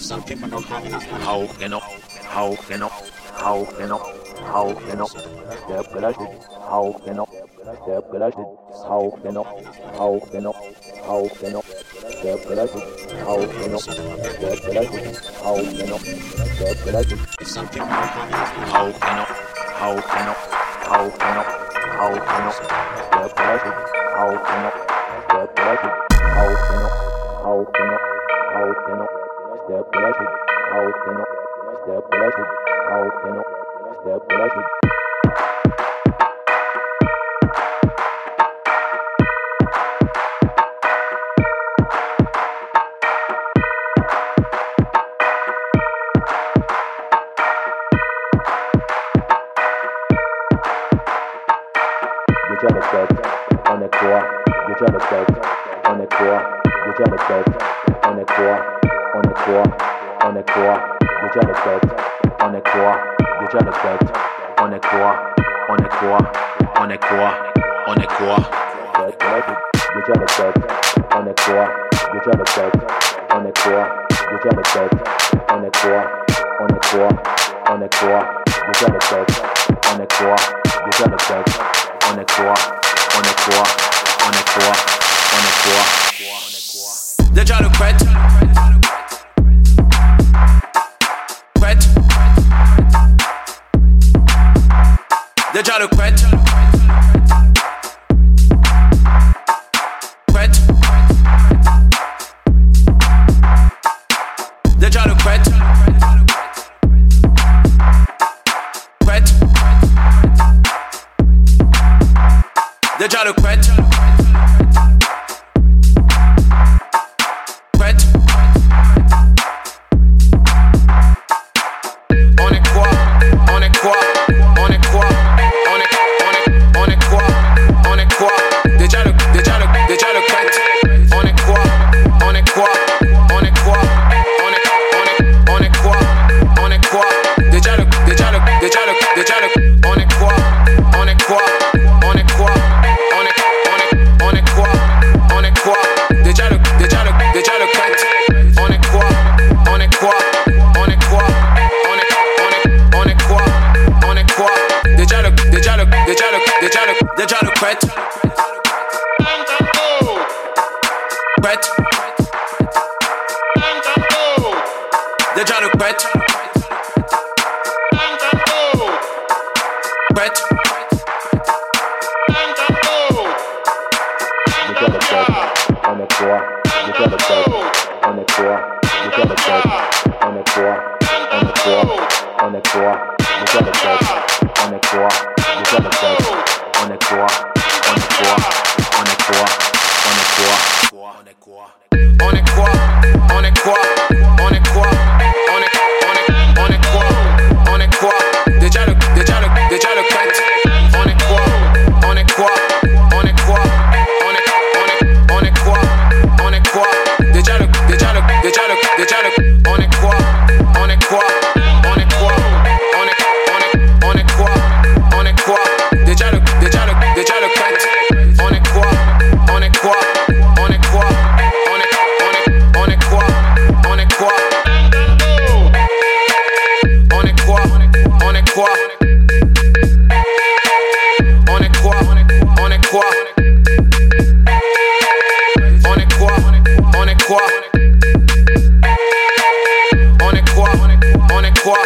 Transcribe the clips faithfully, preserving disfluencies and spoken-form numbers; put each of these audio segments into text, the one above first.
Some people don't have enough. How can up? How can up? How can up? How can up? Step collected. How can up? Step collected. How can up? How can up? How can up? Step collected. How can up? Step collected. How can up? Step collected. Some people don't have enough. How can up? How can up? How can up? How can up? Step collected. How can up? Step collected. How can up? How can up? How can up? Step collected. How can up? Step collected. How can up? Step collected. Déjà le tête, on est quoi? Déjà le tête, on est quoi? Déjà le tête, on est quoi? On est quoi? On est quoi? Déjà le tête, on est quoi? Déjà le tête, on est quoi? On est quoi? On est quoi? On est quoi? Déjà le tête, on est quoi? Déjà le tête, on est quoi? Déjà le tête, on est quoi? On est quoi? On est quoi? Déjà le tête, on est quoi? Déjà le tête, on est quoi? On est quoi? On est quoi? On est quoi? Déjà le prête. Prête. Déjà le prête. Prête. Déjà le prête. Prête. Déjà le prête. Prête. On est quoi? On est quoi? On est quoi? On est on est on est quoi? On est quoi? Déjà le déjà le déjà le prête. On est quoi? On est quoi? On est quoi? On est on est on est quoi? On est quoi? Déjà le déjà le déjà le déjà le on est quoi? On est quoi? On est quoi? On est on est on est quoi? On est quoi? Déjà le déjà le déjà le prête. On est quoi? On est quoi? On est quoi? On est on est on est quoi? On est quoi? Déjà le déjà le déjà le déjà le déjà le prête. Prête. Déjà le prête. Prête. Déjà le tête, on est quoi? Déjà le tête, on est quoi? Déjà le tête, on est quoi? On est quoi? On est quoi? Déjà le tête, on est quoi? Déjà le tête, on est quoi? On est quoi? On est quoi? On est quoi? On est quoi? On est quoi? On est quoi? On est quoi? On est on est on est quoi? On est quoi? Déjà le déjà le déjà le prête. On est quoi? On est quoi? On est quoi? On est on est on est quoi? On est quoi? Déjà le déjà le déjà le déjà le on est quoi? On est quoi? On est quoi? On est on est on est quoi? On est quoi? Déjà le déjà le déjà le prête. On est quoi? On est quoi? On est quoi? On est on est on est quoi? On est quoi? On est quoi? On est quoi? On est quoi? On est quoi? On est quoi? On est quoi? On est quoi? On est quoi?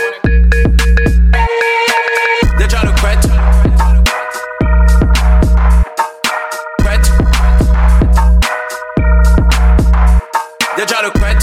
Déjà le prête. Prête. Déjà le prête.